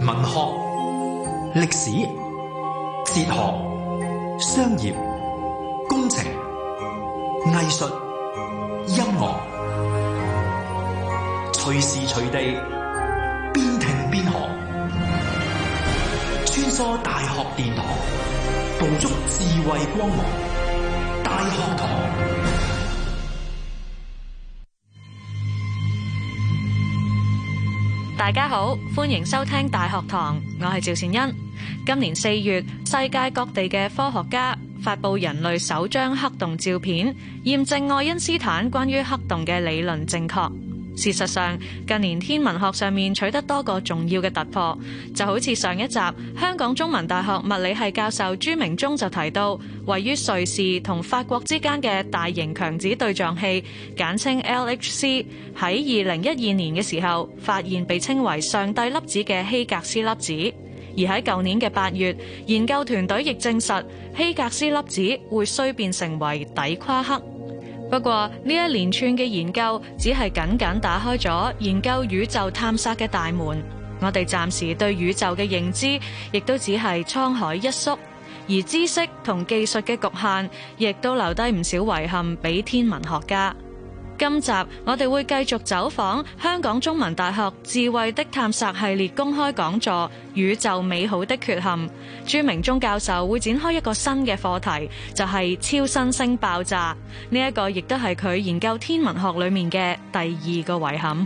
文學、歷史、哲學、商業、工程、藝術、音樂，隨時隨地邊聽邊學，穿梭大學殿堂，捕捉智慧光芒。大學堂。 大家好，歡迎收聽大學堂，我係趙善恩。今年4月，世界各地嘅科學家發佈人類首張黑洞照片，驗證愛因斯坦關於黑洞嘅理論正確。事實上，近年天文學上面取得多個重要嘅突破，就好似上一集香港中文大學物理系教授朱明忠就提到，位於瑞士同法國之間嘅大型強子對撞器，簡稱 LHC， 喺2012年嘅時候發現被稱為上帝粒子嘅希格斯粒子。而喺舊年嘅8月，研究團隊亦證實希格斯粒子會衰變成為底夸克。不過呢一連串嘅研究只係僅僅打開咗研究宇宙探索嘅大門，我哋暫時對宇宙嘅認知亦都只係滄海一粟，而知識同技術嘅局限亦都留低唔少遺憾俾天文學家。今集我哋會繼續走訪香港中文大學智慧的探索系列公開講座《宇宙美好的缺陷》。朱明忠教授會展開一個新嘅課題，就係超新星爆炸。呢一個亦都係佢研究天文學裏面嘅第2個遺憾。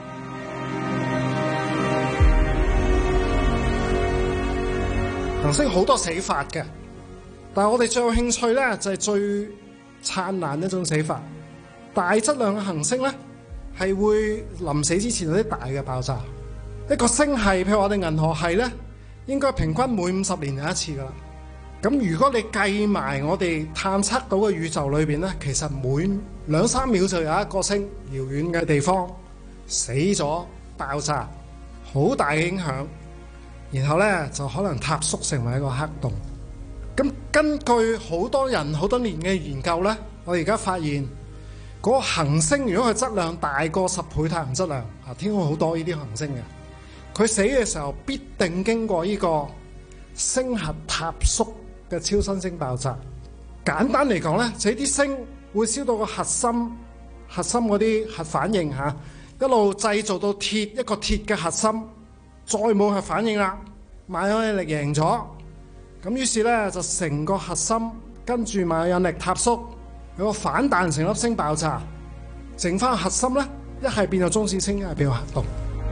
行星好多死法嘅，但係我哋最有興趣咧就係最燦爛一種死法。大質量嘅行星咧，係會臨死之前有啲大嘅爆炸。一個星系，譬如我哋銀河系咧，應該平均每50年有一次噶啦。咁如果你計埋我哋探測到嘅宇宙裏邊咧，其實每2-3秒就有一個星遙遠嘅地方死咗爆炸，好大嘅影響。然後咧就可能塌縮成為一個黑洞。咁根據好多人好多年嘅研究咧，我哋而家發現，嗰個行星如果佢質量大過10倍太陽質量，天空好多呢啲行星嘅，佢死嘅時候必定經過呢個星核塌縮嘅超新星爆炸。簡單嚟講咧，就係啲星會燒到個核心嗰啲核反應一路製造到一個鐵嘅核心，再冇核反應啦，萬有引力贏咗，咁於是咧就成個核心跟住萬有引力塌縮，有個反彈成粒星爆炸，剩翻核心咧，一係變咗中子星，一係變咗黑洞。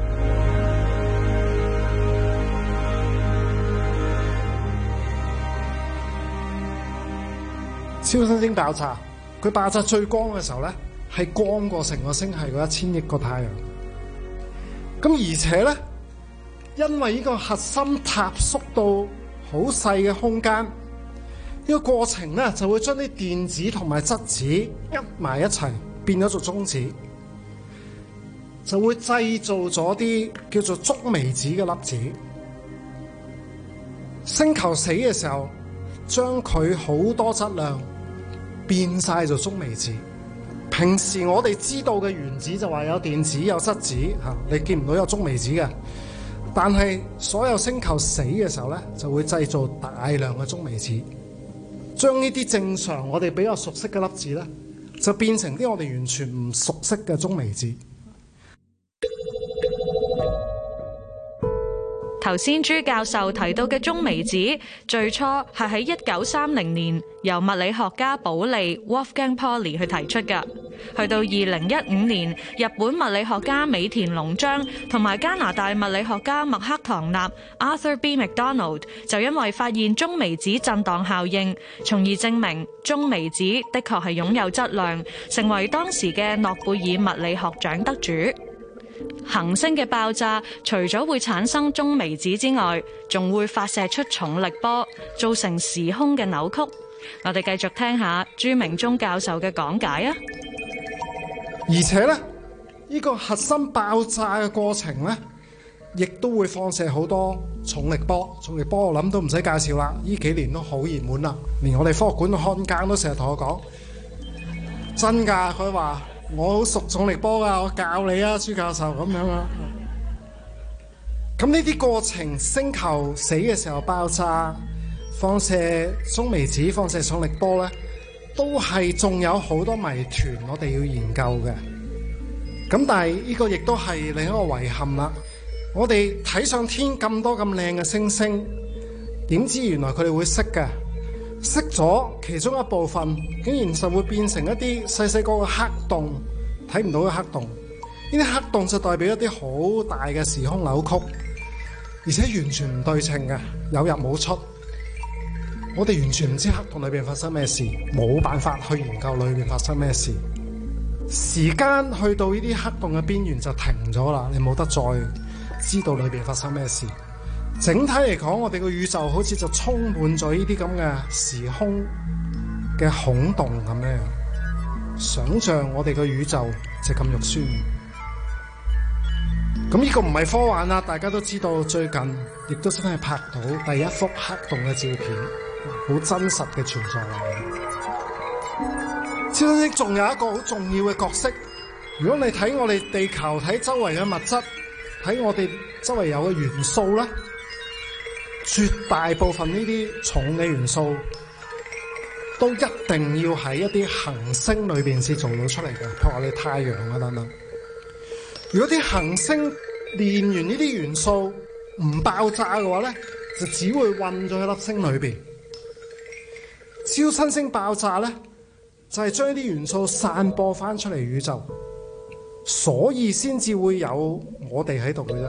超新星爆炸，佢爆炸最光嘅時候咧，係光過成個星系嗰1000億個太陽。咁而且咧，因為呢個核心塌縮到好細嘅空間。呢個過程咧就會將啲電子同埋質子噏埋一齊，變咗做中子，就會製造咗啲叫做觸微子嘅粒子。星球死嘅時候，將佢好多質量變晒做觸微子。平時我哋知道嘅原子就話有電子有質子你見唔到有觸微子嘅。但係所有星球死嘅時候咧，就會製造大量嘅觸微子。將呢啲正常我哋比較熟悉嘅粒子咧，就變成啲我哋完全唔熟悉嘅中微子。 頭先朱教授提到嘅中微子，最初係喺1930年由物理學家保利 Wolfgang Pauli 去提出㗎。去到2015年，日本物理學家尾田龍章同埋加拿大物理學家麥克唐納 Arthur B. McDonald 就因為發現中微子震盪效應，從而證明中微子的確係擁有質量，成為當時嘅諾貝爾物理學獎得主。行星嘅爆炸除咗會產生中微子之外，仲會發射出重力波，造成時空嘅扭曲。我哋繼續聽下朱明忠教授嘅講解啊！ 而且咧，呢個核心爆炸嘅過程咧，亦都會放射好多重力波。重力波我諗都唔使介紹啦，呢幾年都好熱門啦，連我哋科學館嘅看更都成日同我講，真㗎，佢話我好熟重力波㗎，我教你啊，朱教授咁樣啊。 咁呢啲過程，星球死嘅時候爆炸、放射中微子、放射重力波咧，都係仲有好多謎團我哋要研究嘅。咁但係呢個亦都係另一個遺憾啦。我哋睇上天咁多咁靚嘅星星，點知原來佢哋會熄嘅，熄咗其中一部分，竟然就會變成一啲細細個嘅黑洞，睇唔到嘅黑洞。呢啲黑洞就代表一啲好大嘅時空扭曲，而且完全唔對稱嘅，有入冇出。我哋完全唔知黑洞裏邊發生咩事，冇辦法去研究裏邊發生咩事。時間去到呢啲黑洞嘅邊緣就停咗啦，你冇得再知道裏邊發生咩事。整體嚟講，我哋個宇宙好似就充滿咗呢啲咁嘅時空嘅孔洞咁樣。想像我哋個宇宙就咁肉酸。咁呢個唔係科幻啦，大家都知道最近亦都真係拍到第一幅黑洞嘅照片，好真實嘅存在嚟。超新星仲有一個好重要嘅角色，如果你睇我哋地球，睇周圍嘅物質，睇我哋周圍有嘅元素啦，絕大部分呢啲重嘅元素都一定要喺一啲恆星裏邊先做到出嚟嘅，譬如我哋太陽啊等等。如果啲恆星煉完呢啲元素唔爆炸嘅話咧，就只會混咗喺粒星裏邊。超新星爆炸咧，就係將啲元素散播翻出嚟宇宙，所以先至會有我哋喺度嘅啫。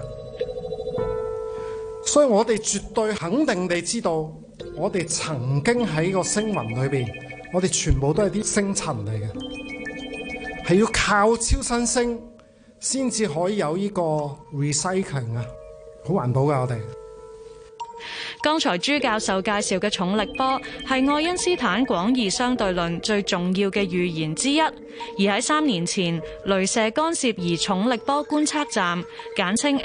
所以我哋絕對肯定地知道，我哋曾經喺個星雲裏邊，我哋全部都係啲星塵嚟嘅，係要靠超新星先至可以有呢個 recycling 啊，好環保噶我哋。 剛才朱教授介紹嘅重力波係愛因斯坦廣義相對論最重要嘅預言之一，而喺3年前，鐳射干涉儀重力波觀測站簡稱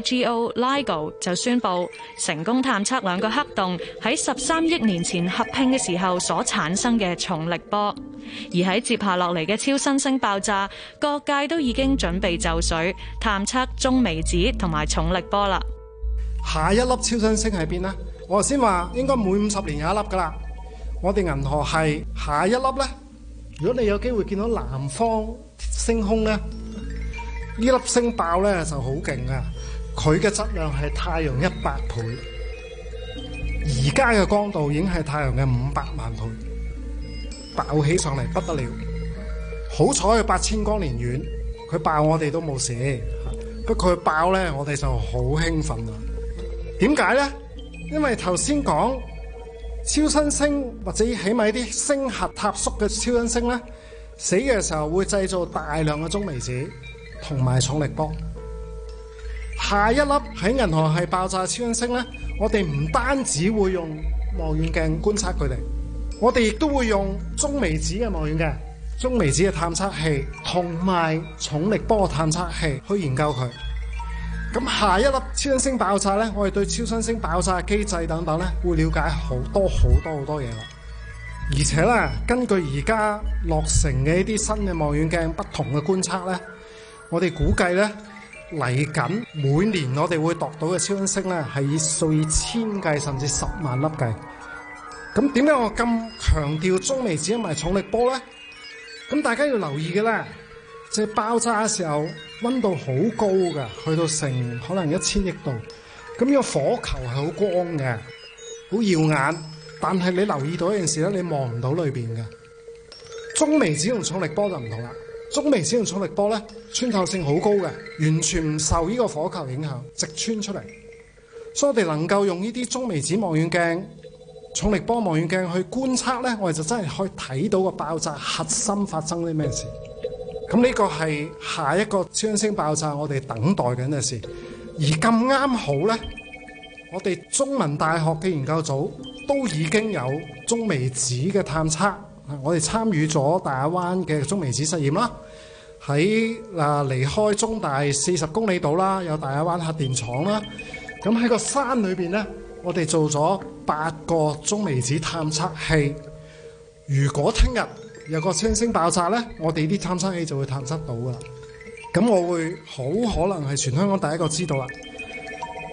LIGO 就宣布成功探測兩個黑洞喺13億年前合併嘅時候所產生嘅重力波。而喺接下落嚟嘅超新星爆炸，各界都已經準備就緒探測中微子同埋重力波啦。 下一粒超新星喺邊呢？我頭先話應該每50年有一粒噶啦。我哋銀河系下一粒呢，如果你有機會見到南方星空呢，呢粒星爆呢就好勁啊！佢嘅質量係太陽100倍，而家嘅光度已經係太陽嘅500萬倍，爆起上嚟不得了。好彩佢8000光年遠，佢爆我哋都冇事。不過佢爆呢，我哋就好興奮啦。點解呢？因為頭先講超新星或者起碼一啲星核塌縮嘅超新星咧，死嘅時候會製造大量嘅中微子同埋重力波。下一粒喺銀河系爆炸超新星咧，我哋唔單止會用望遠鏡觀察佢哋，我哋亦都會用中微子嘅望遠鏡、中微子嘅探測器同埋重力波探測器去研究佢。咁下一粒超新星爆炸咧，我哋對超新星爆炸嘅機制等等咧，會了解好多嘢啦。而且咧，根據而家落成嘅一啲新嘅望遠鏡不同嘅觀測咧，我哋估計咧嚟緊每年我哋會度到嘅超新星咧，係以數以千計甚至10萬粒計。咁點解我咁強調中微子同埋重力波咧？咁大家要留意嘅咧，就係爆炸嘅時候溫度好高㗎，去到成可能1000億度。咁呢個火球係好光嘅，好耀眼。但係你留意到一件事咧，你望唔到裏邊嘅。中微子同重力波就唔同啦。中微子同重力波咧，穿透性好高嘅，完全唔受呢個火球影響，直穿出嚟。所以我哋能夠用呢啲中微子望遠鏡、重力波望遠鏡去觀測咧，我哋就真係可以睇到個爆炸核心發生啲咩事。咁呢個係下一個超新星爆炸我哋等待緊嘅事，而咁啱好呢，我哋中文大學嘅研究組都已經有中微子嘅探測，我哋參與咗大亞灣嘅中微子實驗啦，喺離開中大40公里度啦，有大亞灣核電廠啦，咁喺個山裏邊呢，我哋做咗8個中微子探測器。如果聽日有個超新星爆炸呢，我哋啲探測器就會探測到噶啦。咁我會好可能係全香港第一個知道啦。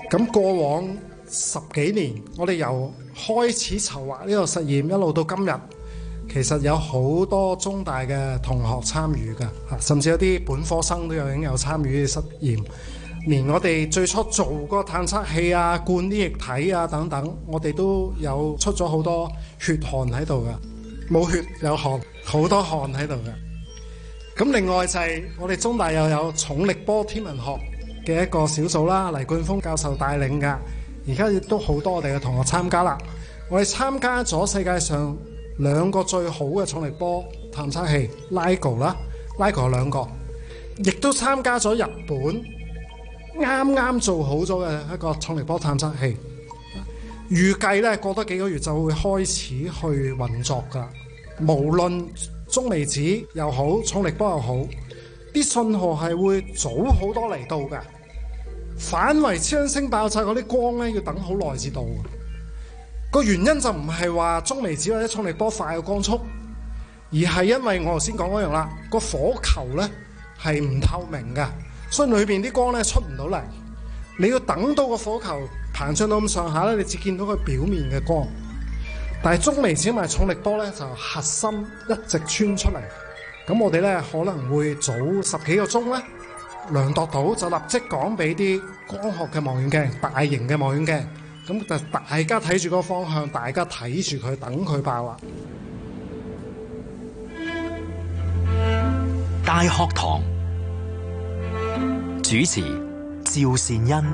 咁過往10幾年，我哋由開始籌劃呢個實驗一路到今日，其實有好多中大嘅同學參與㗎，甚至有啲本科生都已經有參與實驗。連我哋最初做嗰個探測器啊、灌啲液體啊等等，我哋都有出咗好多血汗喺度㗎，冇血有汗，好多汗喺度㗎。咁另外就係我哋中大又有重力波天文學嘅一個小組啦，黎冠峰教授帶領㗎。而家亦都好多我哋嘅同學參加啦。我哋參加咗世界上2個最好嘅重力波探測器 LIGO 啦 ，LIGO 有2個，亦都參加咗日本啱啱做好咗嘅一個重力波探測器。預計咧過多幾個月就會開始去運作㗎。無論中微子又好，重力波又好，啲信號係會早好多嚟到㗎。反為超新星爆炸嗰啲光咧，要等好耐至到。個原因就唔係話中微子或者重力波快嘅光速，而係因為我頭先講嗰樣啦，個火球咧係唔透明㗎，所以裏邊啲光咧出唔到嚟。你要等到個火球膨脹到咁上下咧，你只見到佢表面嘅光。但係中微子同埋重力波咧，就核心一直穿出嚟。咁我哋咧可能會早10幾個鐘咧，量度到就立即講俾啲光學嘅望遠鏡、大型嘅望遠鏡，咁就大家睇住個方向，大家睇住佢，等佢爆啦。 大學堂主持趙善恩。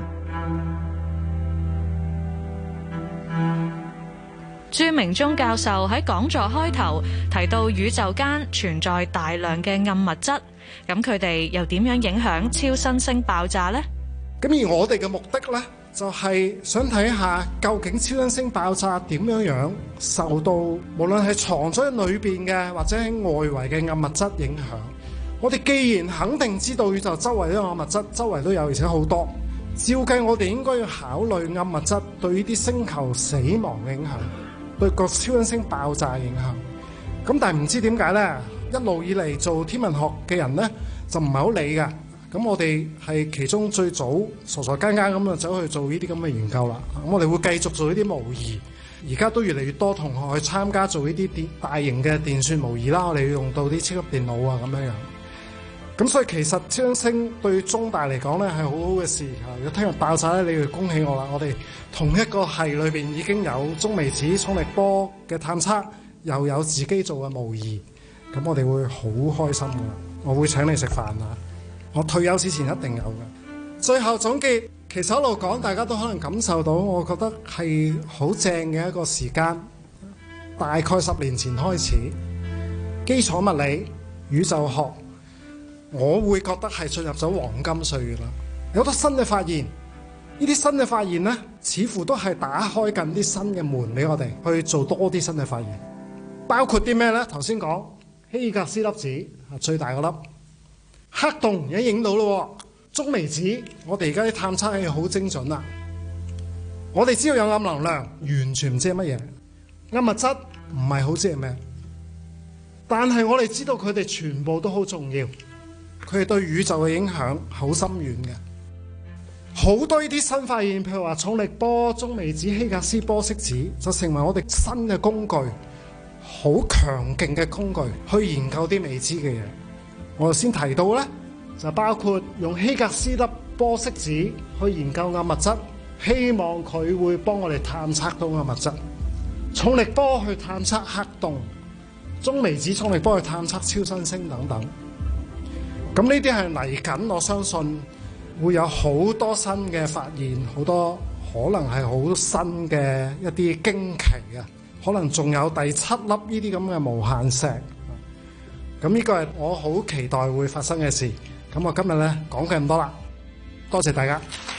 朱明忠教授喺講座開頭提到宇宙間存在大量嘅暗物質，咁佢哋又點樣影響超新星爆炸呢？ 咁而我哋嘅目的呢，就係想睇下究竟超新星爆炸點樣受到無論係藏咗喺裏邊嘅或者喺外圍嘅暗物質影響。我哋既然肯定知道宇宙周圍都有暗物質，周圍都有，而且好多，照計我哋應該要考慮暗物質對呢啲星球死亡嘅影響，對個超新星爆炸影響。咁但係唔知點解呢，一路以嚟做天文學嘅人呢，就唔係好理㗎。咁我哋係其中最早傻傻更更咁就走去做呢啲咁嘅研究啦。咁我哋會繼續做呢啲模擬，而家都越嚟越多同學去參加做呢啲大型嘅電算模擬啦。我哋要用到啲超級電腦啊咁樣樣。咁所以其實超新星對中大嚟講咧係好好嘅事。如果聽日爆炸咧，你要恭喜我啦！我哋同一個系裏邊已經有中微子、重力波嘅探測，又有自己做嘅模擬，咁我哋會好開心噶啦！我會請你食飯啊！我退休之前一定有嘅。最後總結，其實一路講，大家都可能感受到，我覺得係好正嘅一個時間。大概10年前開始，基礎物理、宇宙學，我會覺得係進入咗黃金歲月啦。有好多新嘅發現，呢啲新嘅發現呢，似乎都係打開緊啲新嘅門俾我哋去做多啲新嘅發現。包括啲咩呢？頭先講希格斯粒子最大個粒，黑洞已經影到咯。中微子，我哋而家啲探測器好精準啦。我哋知道有暗能量，完全唔知係乜嘢。暗物質唔係好知係咩，但係我哋知道佢哋全部都好重要。佢哋對宇宙嘅影響好深遠嘅。好多呢啲新發現，譬如話重力波、中微子、希格斯玻色子，就成為我哋新嘅工具，好強勁嘅工具去研究啲未知嘅嘢。我頭先提到呢，就包括用希格斯粒玻色子去研究暗物質，希望佢會幫我哋探測到暗物質；重力波去探測黑洞，中微子重力波去探測超新星等等。咁呢啲係嚟緊，我相信會有好多新嘅發現，好多可能係好新嘅一啲驚奇啊！可能仲有第7粒呢啲咁嘅無限石。咁呢個係我好期待會發生嘅事。咁我今日呢講嘅咁多啦，多謝大家。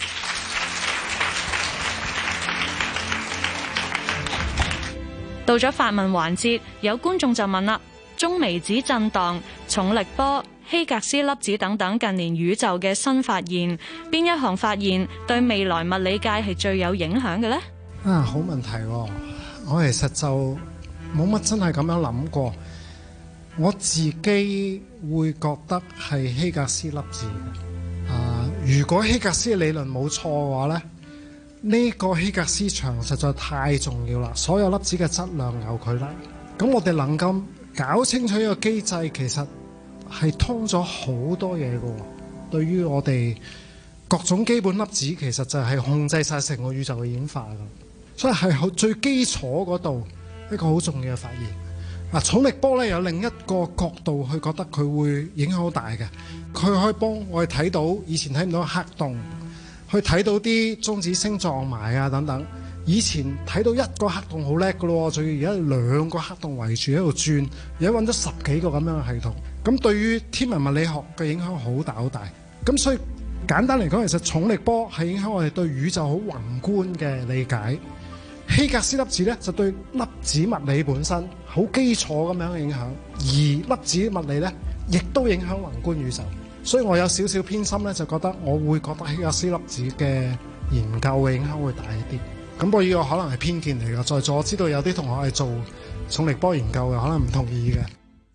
到咗發問環節，有觀眾就問啦：中微子震盪、重力波、希格斯粒子等等近年宇宙嘅新發現，邊一項發現對未來物理界係最有影響嘅呢？ 好問題喎！我其實就冇乜真係咁樣諗過。我自己會覺得係希格斯粒子。如果希格斯嘅理論冇錯嘅話呢， 呢個希格斯場實在太重要啦，所有粒子嘅質量由佢嚟。咁我哋能夠搞清楚呢個機制，其實係通咗好多嘢嘅。對於我哋各種基本粒子，其實就係控制晒成個宇宙嘅演化㗎。所以係最基礎嗰度一個好重要嘅發現。重力波咧有另一個角度去覺得佢會影響好大嘅，佢可以幫我哋睇到以前睇唔到嘅黑洞，去睇到啲中子星撞埋啊等等。以前睇到一個黑洞好叻㗎咯，仲要而家兩個黑洞圍住喺度轉，而家揾咗10幾個咁樣嘅系統。咁對於天文物理學嘅影響好大好大。咁所以簡單嚟講，其實重力波係影響我哋對宇宙好宏觀嘅理解。希格斯粒子咧就對粒子物理本身好基礎咁樣嘅影響，而粒子物理咧亦都影響宏觀宇宙。所以我有少少偏心咧，就覺得我會覺得希格斯粒子嘅研究嘅影響會大一啲。咁不過呢個可能係偏見嚟㗎，在座我知道有啲同學係做重力波研究嘅，可能唔同意嘅。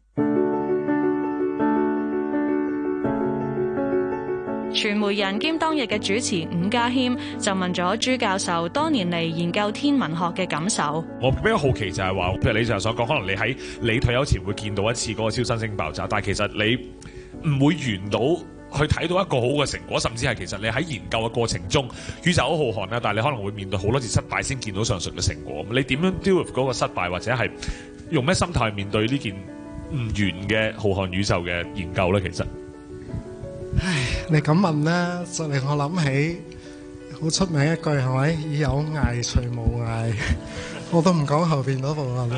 傳媒人兼當日嘅主持伍家謙就問咗朱教授多年嚟研究天文學嘅感受。 我比較好奇就係話，譬如你就係所講，可能你喺你退休前會見到一次嗰個超新星爆炸，但係其實你唔會圓到去睇到一個好嘅成果，甚至係其實你喺研究嘅過程中，宇宙好浩瀚啦，但係你可能會面對好多次失敗先見到上述嘅成果。你點樣 deal with 嗰個失敗，或者係用咩心態去面對呢件唔完嘅浩瀚宇宙嘅研究咧？其實， 唉，你咁問咧，就令我諗起好出名一句係咪？以有涯隨無涯，我都唔講後邊嗰部分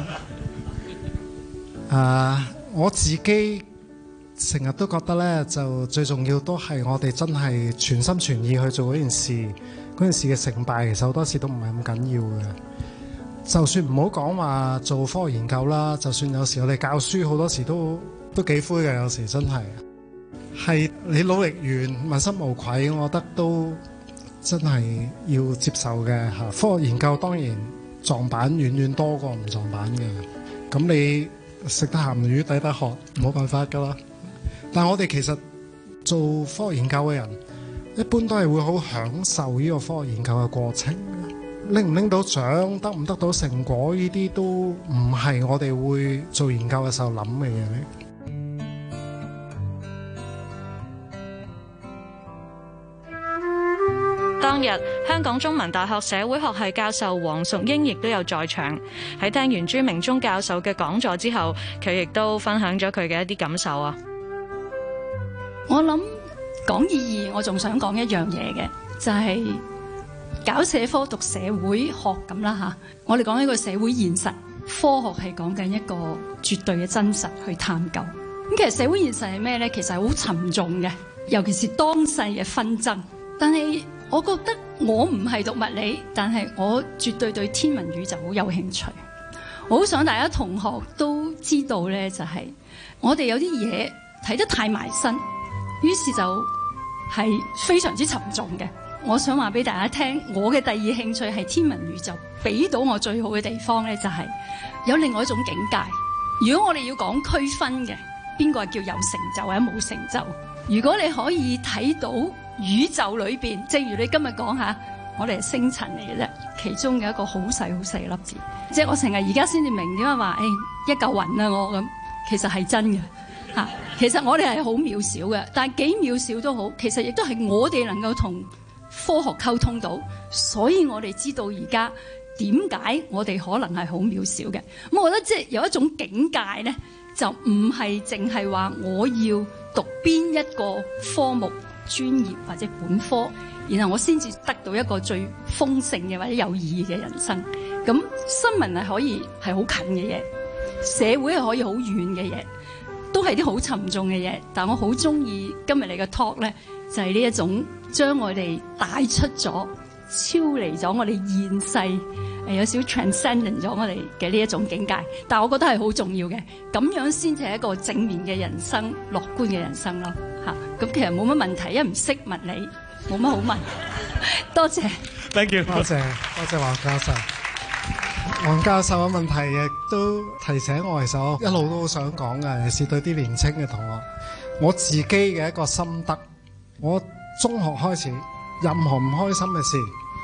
啦。我自己成日都覺得咧，就最重要都係我哋真係全心全意去做嗰件事，嗰件事嘅成敗其實好多時都唔係咁緊要嘅。就算唔好講話做科學研究啦，就算有時我哋教書好多時都幾灰嘅，有時真係你努力完問心無愧，我覺得都真係要接受嘅嚇。科學研究當然撞板遠遠多過唔撞板嘅，咁你食得鹹魚抵得渴，冇辦法噶啦。但係我哋其實做科學研究嘅人，一般都係會好享受呢個科學研究嘅過程。拎唔拎到獎，得唔得到成果，呢啲都唔係我哋會做研究嘅時候諗嘅嘢。 當日香港中文大學社會學系教授黃淑英亦都有在場。喺聽完朱明忠教授嘅講座之後，佢亦都分享咗佢嘅一啲感受啊。 我諗講意義，我仲想講一樣嘢嘅，就係搞社科讀社會學咁啦吓。我哋講一個社會現實，科學係講緊一個絕對嘅真實去探究。咁其實社會現實係咩咧？其實係好沉重嘅，尤其是當世嘅紛爭。但係我覺得我唔係讀物理，但係我絕對對天文宇宙好有興趣。我好想大家同學都知道咧，就係我哋有啲嘢睇得太埋身，於是就係非常之沉重嘅。我想話俾大家聽，我嘅第二興趣係天文宇宙，俾到我最好嘅地方咧，就係有另外一種境界。如果我哋要講區分嘅，邊個係叫有成就或者冇成就？如果你可以睇到宇宙裏邊，正如你今日講下，我哋係星塵嚟嘅啫，其中嘅一個好細好細嘅粒子。即係我成日而家先至明點解話，一嚿雲啊我咁，其實係真嘅嚇。其實我哋係好渺小嘅，但係幾渺小都好，其實亦都係我哋能夠同科學溝通到，所以我哋知道而家點解我哋可能係好渺小嘅。咁我覺得即係有一種境界咧，就唔係淨係話我要讀邊一個科目專業或者本科，然後我先至得到一個最豐盛嘅或者有意義嘅人生。咁新聞係可以係好近嘅嘢，社會係可以好遠嘅嘢，都係啲好沉重嘅嘢。但我好中意今日你嘅 talk 咧，就係呢一種將我哋帶出咗、超離咗我哋現世，有少少 transcendent 咗我哋嘅呢一種境界。但我覺得係好重要嘅，咁樣先至係一個正面嘅人生、樂觀嘅人生咯。咁其實冇乜問題，因為唔識物理，冇乜好問。多謝 ，thank you， 多謝黃教授。黃教授嘅問題亦都提醒我，其實我一路都好想講嘅，尤其是對啲年青嘅同學。我自己嘅一個心得，我中學開始，任何唔開心嘅事，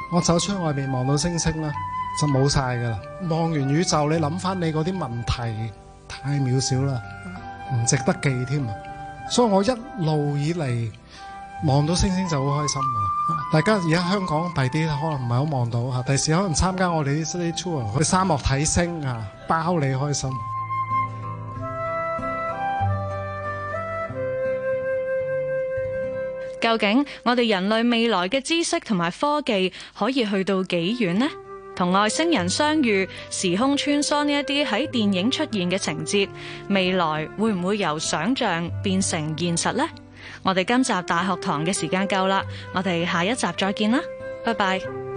我走出外面望到星星啦，就冇晒噶啦。望完宇宙，你諗翻你嗰啲問題太渺小啦，唔值得記添啊！所以我一路以嚟望到星星就好開心噶啦。大家而家香港第啲可能唔係好望到嚇，第時可能參加我哋啲 study tour 去沙漠睇星啊，包你開心。 究竟我哋人類未來嘅知識同埋科技可以去到幾遠呢？同外星人相遇、時空穿梭呢一啲喺電影出現嘅情節，未來會唔會由想像變成現實呢？我哋今集大學堂嘅時間夠啦，我哋下一集再見啦，拜拜。